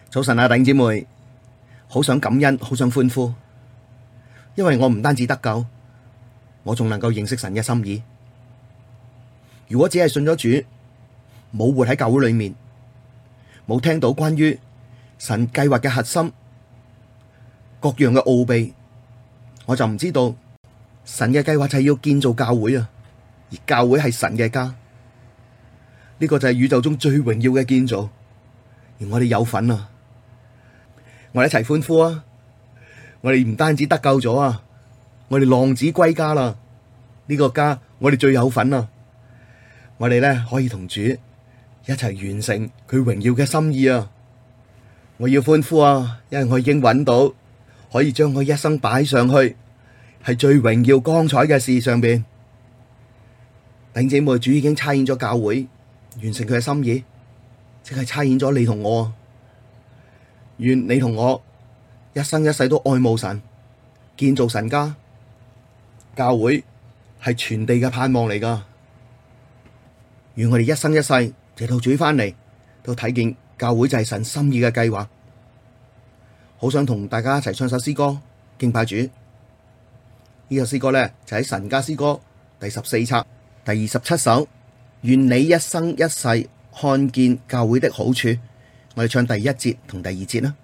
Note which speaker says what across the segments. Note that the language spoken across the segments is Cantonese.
Speaker 1: 早晨啊，弟兄姊妹，好想感恩，好想歡呼，因為我唔單止得救，我仲能夠認識神嘅心意。如果只係信咗主，冇活喺教會裏面，冇聽到關於神計劃嘅核心、各樣嘅奧秘，我就唔知道神嘅計劃就係要建造教會啊，而教會係神嘅家，呢個就係宇宙中最榮耀嘅建造，而我哋有份啊！我哋一齊歡呼啊！我哋唔單止得救咗啊，我哋浪子歸家啦！呢個家我哋最有份啊！我哋咧可以同主一齊完成佢榮耀嘅心意啊！我要歡呼啊，因為我已經揾到可以將我一生擺上去，係最榮耀光彩嘅事上邊。弟兄姊妹，主已經差遣咗教會，完成佢嘅心意，即係差遣咗你同我。願你同我一生一世都愛慕神，建造神家。教會係全地嘅盼望嚟噶。願我哋一生一世直到主返嚟，都睇見教會就係神心意嘅計劃。好想同大家一齊唱首詩歌敬拜主。呢首詩歌咧就喺神家詩歌第14冊第27首。願你一生一世看見教會的好處。我哋唱第1節同第2節啦。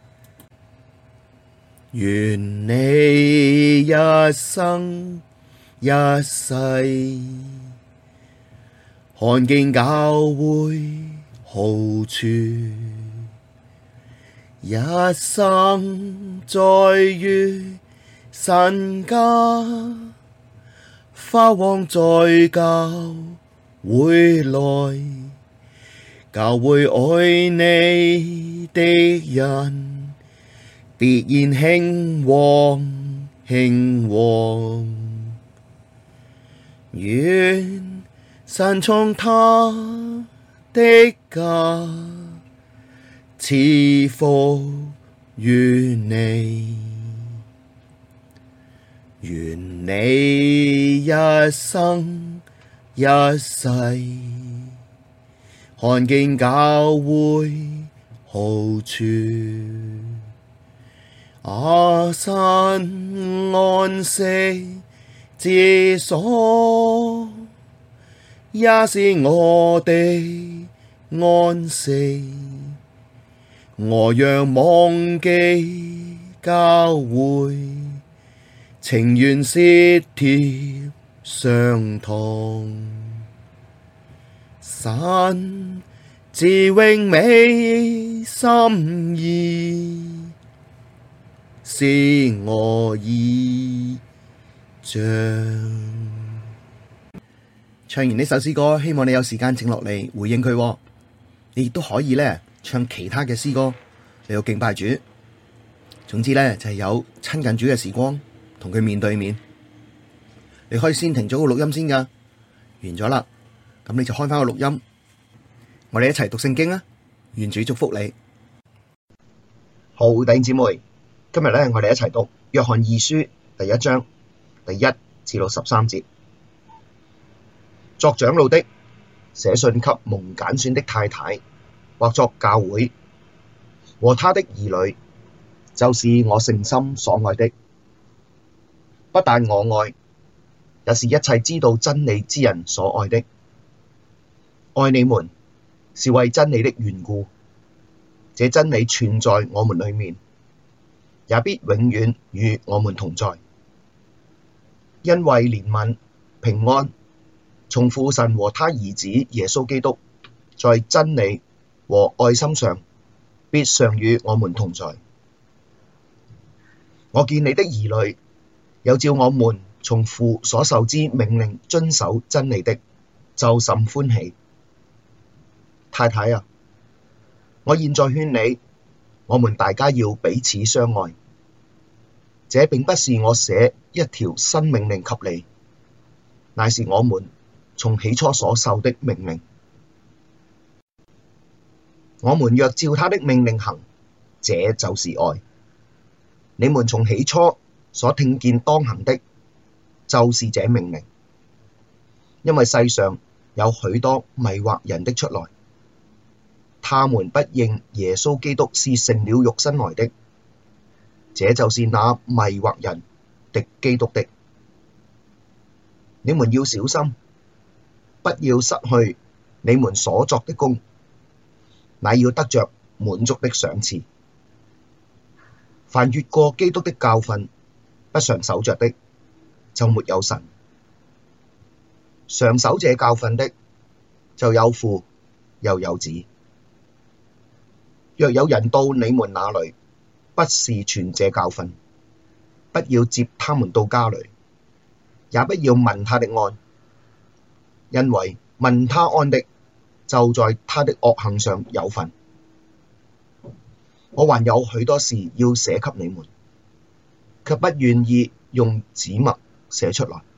Speaker 1: 願你一生一世看見教會好處，一生栽於神家，發旺在教會內。教會愛你的人，必然興旺興旺。願神從他的家賜福於你，願你一生一世看見教會好處。神安息之所，也是我的安息。我若忘記教會，情願舌貼傷痛。神至榮美心意，是我依仗。唱完呢首詩歌，希望你有時間靜落嚟回應佢。你亦都可以咧唱其他嘅詩歌嚟到敬拜主。總之咧就係有親近主嘅時光，同佢面對面。你可以先停咗個錄音先噶，完咗啦。咁你就開返個錄音，我哋一齊讀聖經啊！願主祝福你。好，弟兄姊妹，今日咧我哋一齊讀約翰二書第1章第1至到13節。作長老的寫信給蒙揀選的太太，或作教會和他的兒女，就是我誠心所愛的。不但我愛，也是一切知道真理之人所愛的。愛你們，是為真理的緣故。這真理存在我們裡面，也必永遠與我們同在。因為憐憫、平安，從父神和他兒子耶穌基督，在真理和愛心上，必常與我們同在。我見你的兒女，有照我們從父所受之命令遵守真理的，就甚歡喜。太太啊，我現在勸你，我們大家要彼此相愛。這並不是我寫一條新命令給你，乃是我們從起初所受的命令。我們若照他的命令行，這就是愛。你們從起初所聽見當行的，就是這命令。因為世上有許多迷惑人的出來，
Speaker 2: 他們不認耶穌基督是成了肉身來的，這就是那迷惑人、敵基督的。你們要小心，不要失去你們所作的工，乃要得着滿足的賞賜。凡越過基督的教訓，不常守着的，就沒有神；常守這教訓的，就有父又有子。若有人到你們那裡，不是傳這教訓，不要接他們到家裡，也不要問他的安，因為問他安的，就在他的惡行上有份。我還有許多事要寫給你們，卻不願意用紙墨寫出來，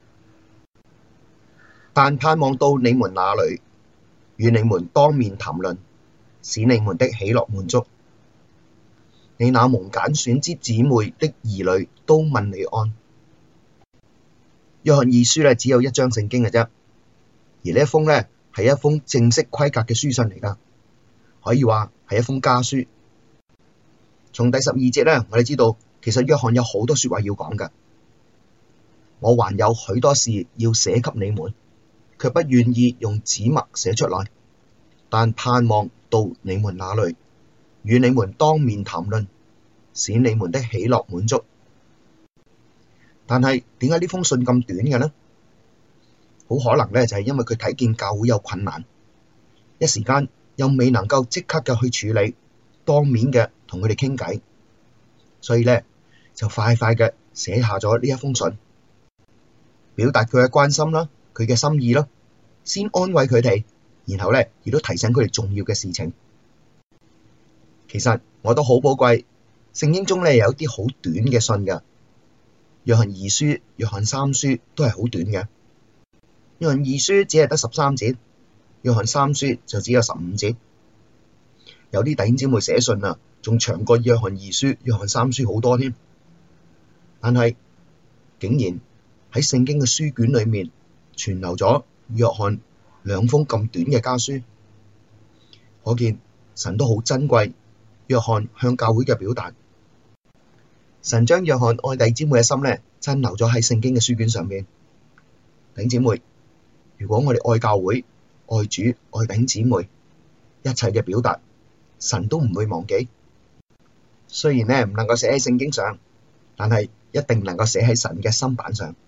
Speaker 2: 但盼望到你們那裡，與你們當面談論，使你們的喜樂滿足。你那蒙揀選之姊妹的兒女都問你安。約翰二書只有一章聖經嘅啫，而呢一封係一封正式規格嘅書信嚟㗎，可以話係一封家書。從第12節我哋知道其實約翰有好多說話要講㗎。我還有許多事要寫給你們，卻不願意用紙墨寫出來，但盼望到你們那裡，與你們當面談論，使你們的喜樂滿足。但係點解呢封信咁短嘅呢？好可能就係因為佢睇見教會有困難，一時間又未能夠即刻嘅去處理，當面嘅同佢哋傾偈，所以就快快嘅寫下咗呢一封信，表達佢嘅關心啦，佢嘅心意啦，先安慰佢哋，然後亦都提醒佢哋重要嘅事情。其實我都好寶貴，聖經中有啲好短嘅信㗎，約翰二書、約翰三書都係好短嘅。約翰二書只係得13節，約翰三書就只有15節。有啲弟兄姊妹寫信仲長過約翰二書、約翰三書好多添。但係竟然喺聖經嘅書卷裏面存留咗約翰兩封咁短嘅家書，可見神都好珍貴約翰向教會嘅表達。神將約翰愛弟兄姊妹嘅心珍留咗喺聖經嘅書卷上面。弟兄姊妹，如果我哋愛教會、愛主、愛弟兄姊妹，一切嘅表達神都唔會忘記。雖然唔能夠寫喺聖經上，但係一定能夠寫喺神嘅心版上。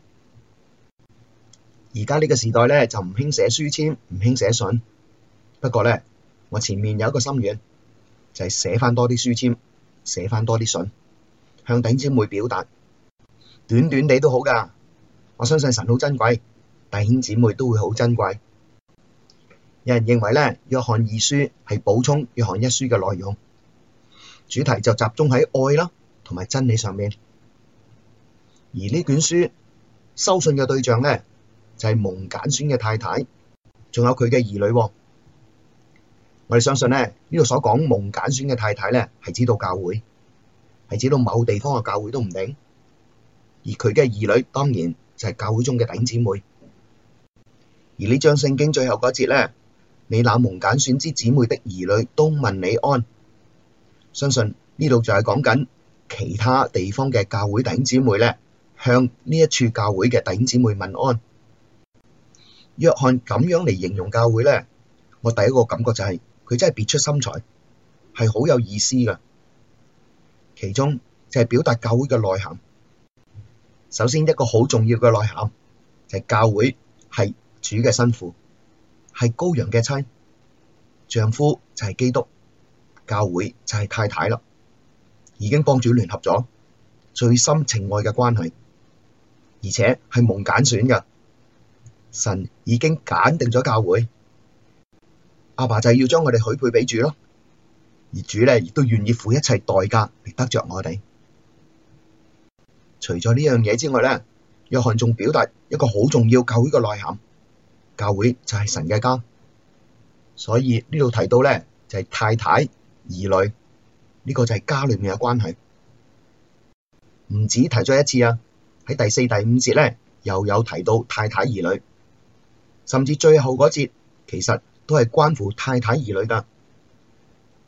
Speaker 2: 而家呢個時代就唔興寫書籤，唔興寫信。不過我前面有一個心願，就係寫翻多啲書籤，寫翻多啲信，向弟兄姊妹表達，短短地都好㗎。我相信神好珍貴，弟兄姊妹都會好珍貴。有人認為約翰二書係補充約翰一書嘅內容，主題就集中喺愛啦同埋真理上面。而呢卷書收信嘅對象就係蒙揀選嘅太太，仲有佢嘅兒女。我哋相信呢度所講蒙揀選嘅太太係指到教會，係指到某地方嘅教會都唔定。而佢嘅兒女當然就係教會中嘅弟兄姊妹。而呢章聖經最後嗰節你那蒙揀選之姊妹的兒女都問你安。相信呢度就係講緊其他地方嘅教會弟兄姊妹向呢一處教會嘅弟兄姊妹問安。約翰咁樣嚟形容教會我第一個感覺就係佢真係別出心裁，係好有意思㗎。其中就係表達教會嘅內涵。首先一個好重要嘅內涵就係教會係主嘅新婦，係羔羊嘅妻，丈夫就係基督，教會就係太太啦，已經幫主聯合咗最深情愛嘅關係，而且係蒙揀選㗎。神已經揀定咗教會，阿爸就係要將我哋許配俾主咯，而主亦都願意付一切代價嚟得着我哋。除咗呢樣嘢之外約翰仲表達一個好重要教會嘅內涵，教會就係神嘅家。所以呢度提到就係太太兒女，呢個就係家裏面嘅關係。唔止提咗一次喺第4、第5節又有提到太太兒女，甚至最後嗰節其實都係關乎太太兒女㗎。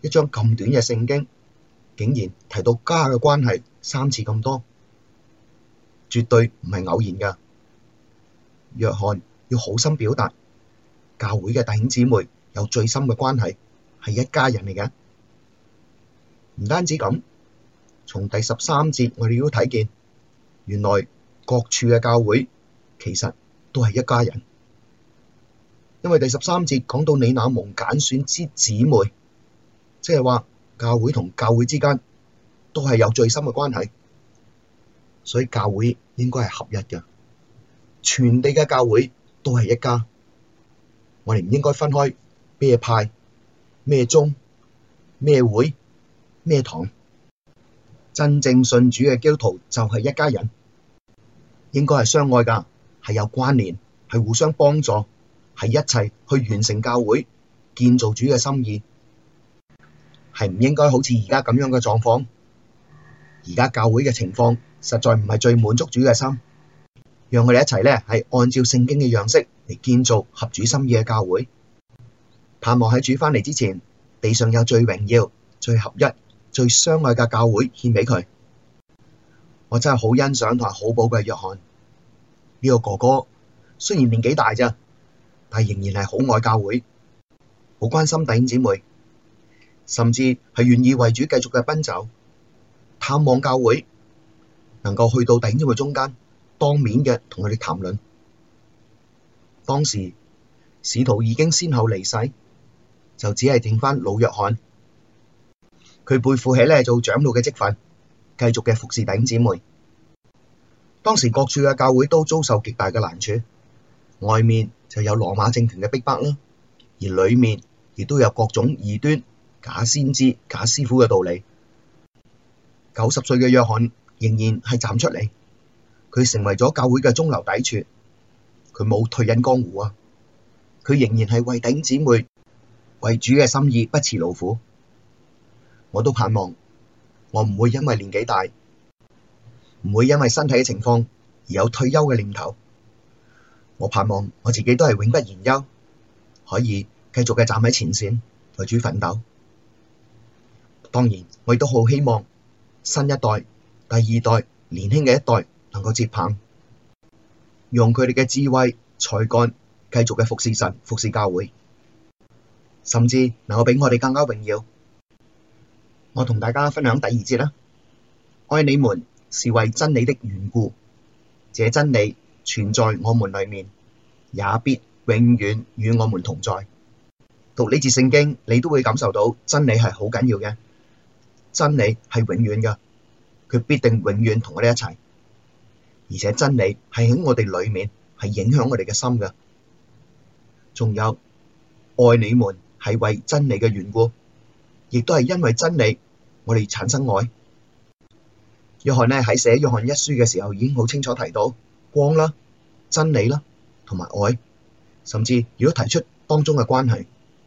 Speaker 2: 一章咁短嘅聖經，竟然提到家嘅關係3次咁多，絕對唔係偶然㗎。約翰要好心表達，教會嘅弟兄姊妹有最深嘅關係，係一家人嚟嘅。唔單止咁，從第13節我哋都睇見，原來各處嘅教會其實都係一家人。因為第13節講到你那蒙揀選之姊妹，即係話教會同教會之間都係有最深嘅關係，所以教會應該係合一嘅。全地嘅教會都係一家，我哋唔應該分開咩派、咩宗、咩會、咩堂。真正信主嘅基督徒就係一家人，應該係相愛㗎，係有關聯，係互相幫助，係一齊去完成教會，建造主嘅心意，係唔應該好似而家咁樣嘅狀況。而家教會嘅情況實在唔係最滿足主嘅心，讓我哋一齊咧係按照聖經嘅樣式嚟建造合主心意嘅教會，盼望喺主返嚟之前，地上有最榮耀、最合一、最相愛嘅教會獻畀佢。我真係好欣賞同埋好寶貴約翰呢個哥哥，雖然年紀大咋，但係仍然係好愛教會，好關心弟兄姊妹，甚至係願意為主繼續嘅奔走，探望教會，能夠去到弟兄姊妹中間，當面嘅同佢哋談論。當時使徒已經先後離世，就只係剩返老約翰，佢背負起咧做長老嘅職分，繼續嘅服侍弟兄姊妹。當時各處嘅教會都遭受極大嘅難處，外面就有羅馬政權嘅逼迫啦，而裡面亦都有各種異端、假先知、假師傅嘅道理。90歲嘅約翰仍然係站出嚟，佢成為咗教會嘅中流砥柱，佢冇退隱江湖啊！佢仍然係為弟兄姊妹、為主嘅心意不辭勞苦。我都盼望我唔會因為年紀大，唔會因為身體嘅情況而有退休嘅念頭。我盼望我自己都係永不言休，可以繼續嘅站喺前線為主奮鬥。當然，我亦都好希望新一代、第二代、年輕嘅一代能夠接棒，用佢哋嘅智慧、才幹繼續嘅服侍神、服侍教會，甚至能夠比我哋更加榮耀。我同大家分享第2節啦。愛你們是為真理的緣故，這真理存在我們裡面，也必永遠與我們同在。讀呢節聖經，你都會感受到真理係好緊要嘅，真理係永遠嘅，佢必定永遠同我哋一齊，而且真理係喺我哋裡面，係影響我哋嘅心嘅。仲有愛你們係為真理嘅緣故，亦都係因為真理我哋產生愛。約翰呢喺寫約翰一書嘅時候已經好清楚提到光啦、真理啦同埋愛，甚至亦都提出當中嘅關係。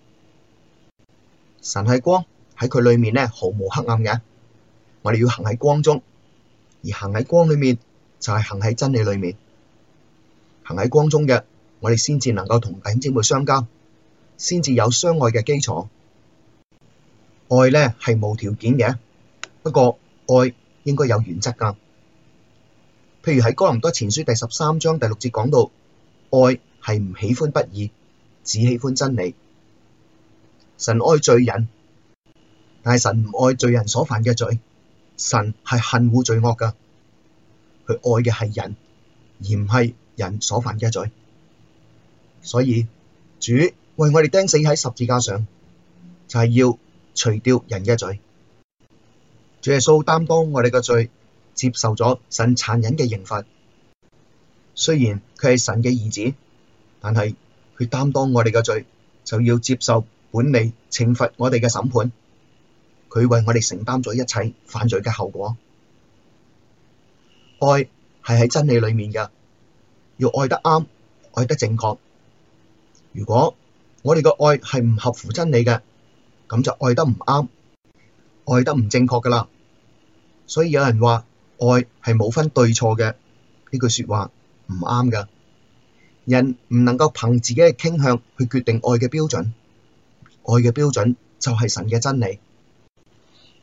Speaker 2: 神係光，喺佢裡面呢毫無黑暗嘅，我哋要行喺光中，而行喺光裡面就係行喺真理裡面。行喺光中嘅，我哋先至能夠同弟兄姊妹相交，先至有相愛嘅基礎。愛呢係無條件嘅，不過愛應該有原則㗎。譬如喺哥林多前書第13章第6節講到，愛係唔喜歡不義，只喜歡真理。神愛罪人，但係神唔愛罪人所犯嘅罪，神係恨惡罪惡㗎。佢愛嘅係人，而唔係人所犯嘅罪。所以主為我哋釘死喺十字架上，就係要除掉人嘅罪。主耶穌擔當我哋嘅罪，接受咗神殘忍嘅刑罰。雖然佢係神嘅兒子，但係佢擔當我哋嘅罪，就要接受本嚟懲罰我哋嘅審判。佢為我哋承擔咗一切犯罪嘅後果。愛係喺真理裡面嘅，要愛得啱，愛得正確。如果我哋嘅愛係唔合乎真理嘅，咁就愛得唔啱，愛得唔正確噶啦。所以有人話愛係冇分對錯嘅，呢句說話唔啱噶。人唔能夠憑自己嘅傾向去決定愛嘅標準，愛嘅標準就係神嘅真理，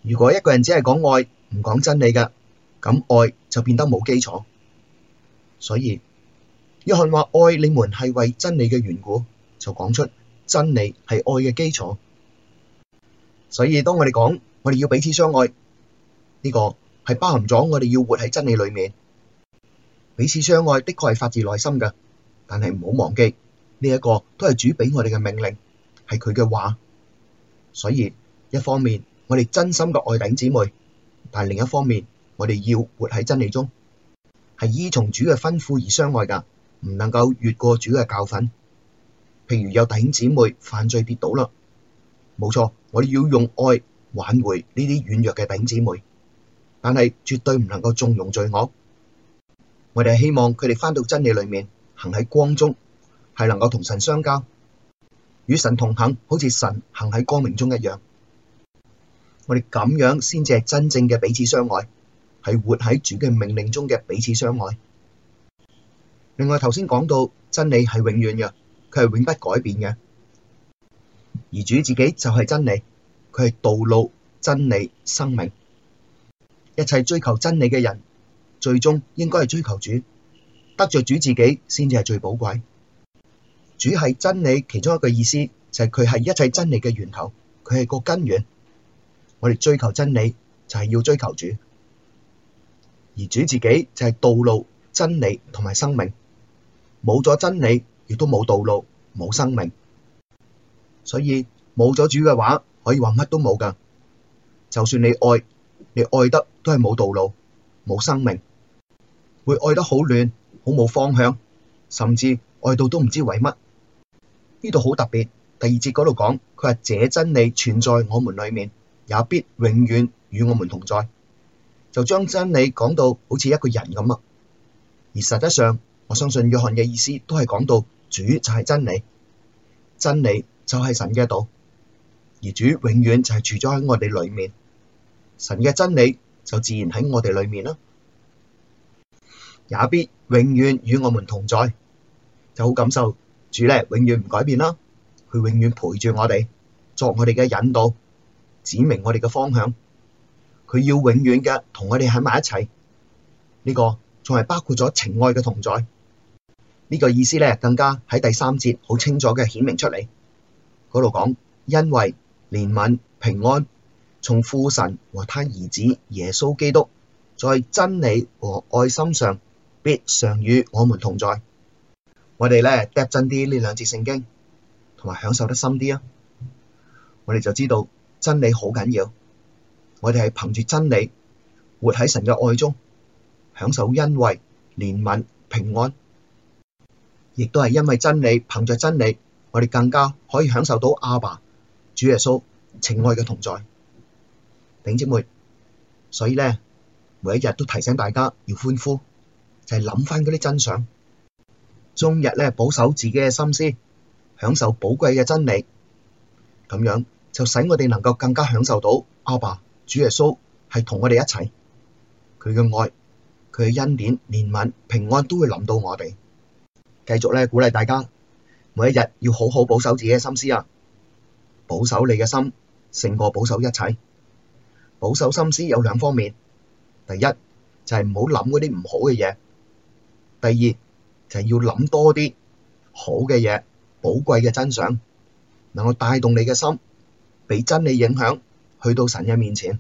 Speaker 2: 如果一個人只係講愛，唔講真理嘅，咁愛就變得冇基礎。所以約翰話愛你們係為真理嘅緣故，就講出真理係愛嘅基礎。所以當我哋講我哋要彼此相愛，呢個係包含咗我哋要活喺真理裏面。彼此相愛的確係發自內心嘅，但係唔好忘記呢一個都係主俾我哋嘅命令，係佢嘅話。所以一方面我哋真心嘅愛弟兄姊妹，但係另一方面我哋要活喺真理中，係依從主嘅吩咐而相愛噶，唔能夠越過主嘅教訓。譬如有弟兄姊妹犯罪跌倒啦，冇錯，我哋要用愛挽回呢啲軟弱嘅弟兄姊妹，但係絕對唔能夠縱容罪惡。我哋係希望佢哋返到真理裏面，行喺光中，係能夠同神相交，與神同行，好似神行喺光明中一樣。我哋咁樣先至係真正嘅彼此相愛，係活喺主嘅命令中嘅彼此相愛。另外頭先講到真理係永遠嘅，佢係永不改變嘅，而主自己就係真理，佢係道路、真理、生命。一切追求真理嘅人，最終應該係追求主，得着主自己先至係最寶貴。主係真理其中一個意思，就係佢係一切真理嘅源頭，佢係個根源。我哋追求真理就係要追求主，而主自己就係道路、真理同埋生命。冇咗真理，亦都冇道路、冇生命。所以冇咗主嘅話，可以話乜都冇噶。就算你愛，你愛得都係冇道路、冇生命，會愛得好亂、好冇方向，甚至愛到都唔知為乜。呢度好特別，第二節嗰度講，佢話這真理存在我們裡面，也必永遠與我們同在。就將真理講到好似一個人咁啊。而實質上，我相信約翰嘅意思都係講到主就係真理，真理就係神嘅道，而主永遠就係住咗喺我哋裡面，神嘅真理就自然喺我哋裡面啦，也必永遠與我們同在。就好感受主咧，永遠唔改變啦，佢永遠陪住我哋，作我哋嘅引導，指明我哋嘅方向，佢要永遠嘅同我哋喺埋一齊。呢個仲係包括咗情愛嘅同在。呢個意思咧，更加喺第3節好清楚嘅顯明出嚟。嗰度講，因為憐憫平安從父神和他兒子耶穌基督在真理和愛心上必常與我們同在。我哋咧嗒真啲呢兩節聖經，同埋享受得深啲啊！我哋就知道真理好緊要，我哋係憑住真理活喺神嘅愛中，享受恩惠、憐憫、平安，亦都係因為真理，憑着真理，我哋更加可以享受到阿爸、主耶穌情愛嘅同在。弟兄姊妹，所以咧，每一日都提醒大家要歡呼，就係諗翻嗰啲真相，終日咧保守自己嘅心思，享受寶貴嘅真理，咁樣就使我哋能夠更加享受到阿爸、主耶穌係同我哋一齊，佢嘅愛、佢嘅恩典、憐憫、平安都會臨到我哋。繼續咧鼓勵大家，每一日要好好保守自己嘅心思啊！保守你嘅心勝過保守一切。保守心思有兩方面，第一就係唔好諗嗰啲唔好嘅嘢，第二就係要諗多啲好嘅嘢、寶貴嘅真相，能夠帶動你嘅心，被真理影響，去到神嘅面前。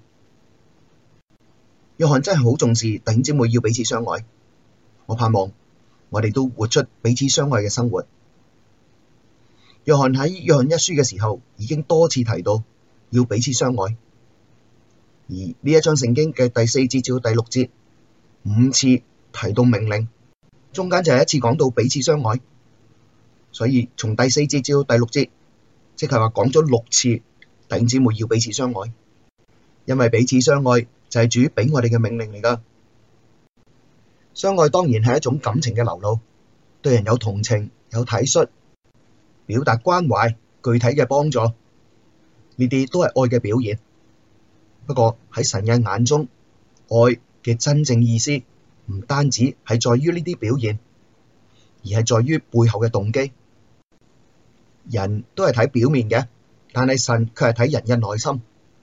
Speaker 2: 約翰真係好重視弟兄姊妹要彼此相愛，我盼望我哋都活出彼此相愛嘅生活。約翰喺約翰一書嘅時候已經多次提到要彼此相愛，而呢一章聖經嘅第4節至到第6節5次提到命令，中間就係一次講到彼此相愛，所以從第4節至到第6節，即係話講咗6次弟兄姊妹要彼此相愛，因為彼此相愛就係主俾我哋嘅命令嚟㗎。相愛當然係一種感情嘅流露，對人有同情、有體恤，表達關懷、具體嘅幫助，呢啲都係愛嘅表現。不過喺神嘅眼中，愛嘅真正意思唔單止係在於呢啲表現，而係在於背後嘅動機。人都係睇表面嘅，但係神卻係睇人嘅內心。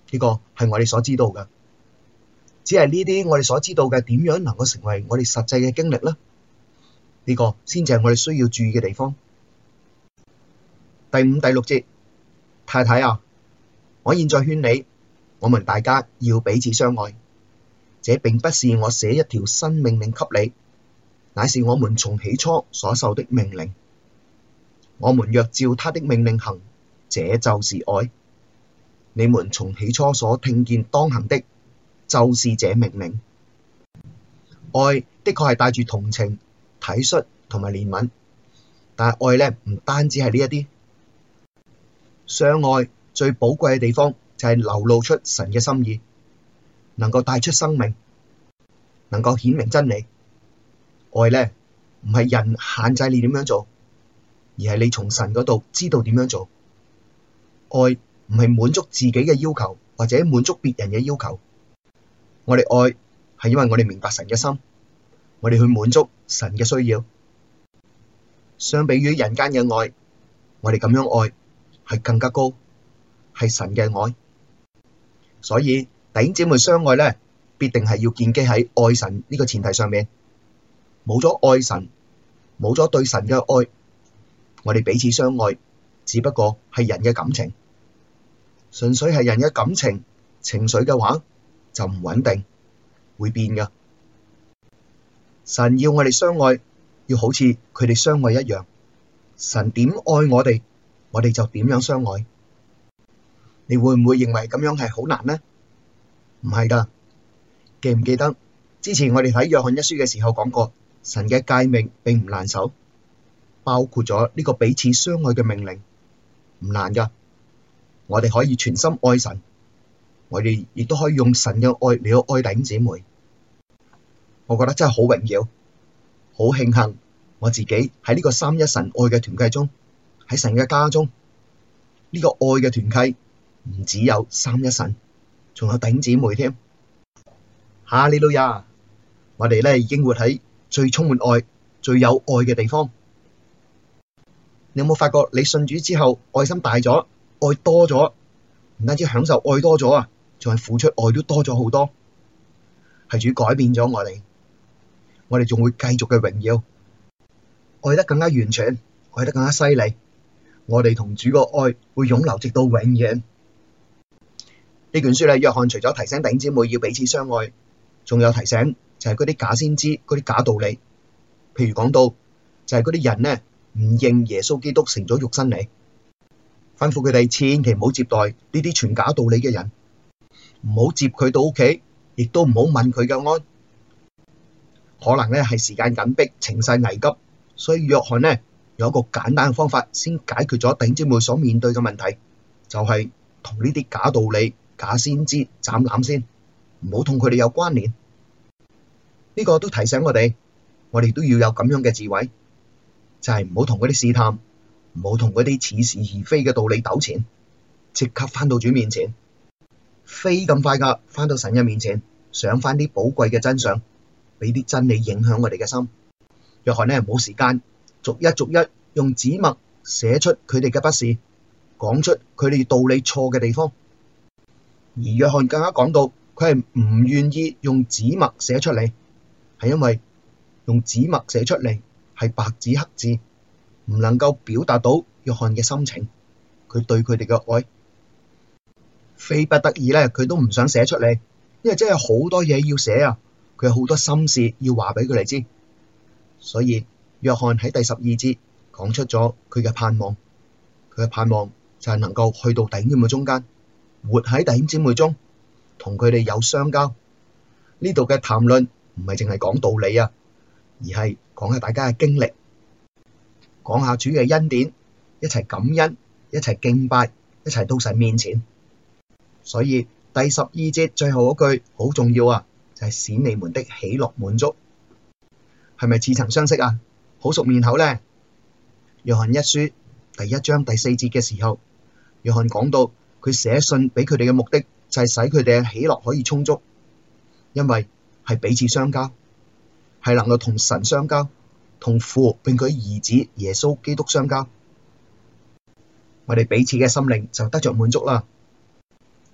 Speaker 2: 呢個係我哋所知道嘅。只係呢啲我哋所知道嘅點樣能夠成為我哋實際嘅經歷呢？呢個先至係我哋需要注意嘅地方。第5、第6節，太太啊，我現在勸你，我們大家要彼此相愛。這並不是我寫一條新命令給你，乃是我們從起初所受的命令。我們若照他的命令行，這就是愛。你們從起初所聽見當行的，就是這命令。愛的確係帶住同情、體恤同埋憐憫，但係愛咧唔單止係呢一啲。相愛最寶貴嘅地方就係流露出神嘅心意，能夠帶出生命，能夠顯明真理。愛咧唔係人限制你點樣做，而係你從神嗰度知道點樣做。愛唔係滿足自己嘅要求，或者滿足別人嘅要求。我哋愛係因為我哋明白神嘅心，我哋去滿足神嘅需要。相比於人間嘅愛，我哋咁樣愛係更加高，係神嘅愛。所以弟兄姊妹相愛咧，必定係要建基喺愛神呢個前提上面。冇咗愛神，冇咗對神嘅愛，我哋彼此相愛只不過係人嘅感情，純粹係人嘅感情情緒嘅話就唔穩定，會變噶。神要我哋相愛，要好似佢哋相愛一樣。神點愛我哋，我哋就點樣相愛。你會唔會認為咁樣係好難呢？唔係噶，記唔記得之前我哋睇約翰一書嘅時候講過，神嘅誡命並唔難守，包括咗呢個彼此相愛嘅命令，唔難噶。我哋可以全心愛神，我哋亦都可以用神嘅愛嚟到愛弟兄姊妹。我覺得真係好榮耀，好慶幸我自己喺呢個三一神愛嘅團契中，喺神嘅家中，呢個愛嘅團契唔只有三一神，仲有弟兄姊妹添。哈利路亞！我哋咧已經活喺最充滿愛、最有愛嘅地方。你有冇發覺你信主之後愛心大咗，愛多咗，唔單止享受愛多咗啊，仲係付出愛都多咗好多。係主改變咗我哋仲會繼續嘅榮耀，愛得更加完全，愛得更加犀利。我哋同主個愛會湧流直到永遠。呢卷書咧，約翰除咗提醒弟兄姊妹要彼此相愛，仲有提醒就係嗰啲假先知、嗰啲假道理。譬如講到就係嗰啲人呢，唔認耶穌基督成咗肉身嚟，吩咐佢哋千祈唔好接待呢啲傳假道理嘅人，唔好接佢到屋企，亦都唔好問佢嘅安。可能咧係時間緊迫、情勢危急，所以約翰呢有一個簡單嘅方法，先解決咗弟兄姊妹所面對嘅問題，就係同呢啲假道理、假先知斬纜先，唔好同佢哋有關聯。呢個都提醒我哋都要有咁樣嘅智慧，就係唔好同嗰啲試探，唔好同嗰啲似是而非嘅道理糾纏，即刻返到主面前，飛咁快噶返到神嘅面前，想返啲寶貴嘅真相，俾啲真理影響我哋嘅心。約翰呢冇時間逐一用紙墨寫出佢哋嘅不是，講出佢哋道理錯嘅地方。而約翰更加講到，佢係唔願意用紙墨寫出嚟，係因為用紙墨寫出嚟係白紙黑字，唔能夠表達到約翰嘅心情，佢對佢哋嘅愛。非不得已咧，佢都唔想寫出嚟，因為真係好多嘢要寫啊，佢有好多心事要話俾佢哋知。所以約翰喺第12節講出咗佢嘅盼望，佢嘅盼望就係能夠去到弟兄姊妹中間，活喺弟兄姊妹中，同佢哋有相交。呢度嘅談論唔係淨係講道理啊，而係講下大家嘅經歷，講下主嘅恩典，一齊感恩，一齊敬拜，一齊到神面前。所以第12節最後嗰句好重要啊，就係使你們的喜樂滿足。係咪似曾相識啊？好熟面口呢？約翰一書第1章第4節嘅時候，約翰講到佢寫信俾佢哋嘅目的就係使佢哋嘅喜樂可以充足，因為係彼此相交，係能夠同神相交，同父並佢兒子耶穌基督相交，我哋彼此嘅心靈就得着滿足啦。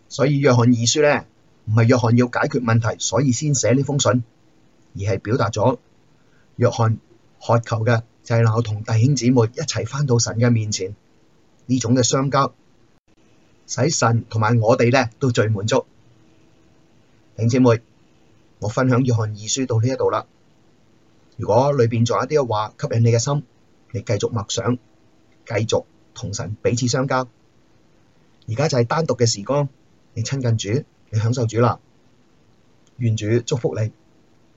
Speaker 2: 所以約翰二書咧，唔係約翰要解決問題，所以先寫呢封信，而係表達咗約翰渴求嘅就係能夠同弟兄姊妹一齊返到神嘅面前，呢種嘅相交，使神同埋我哋咧都最滿足。弟兄姊妹，我分享約翰二書到呢一度啦。如果裏邊仲有一啲嘅話吸引你嘅心，你繼續默想，繼續同神彼此相交。而家就係單獨嘅時光，你親近主，你享受主啦。願主祝福你。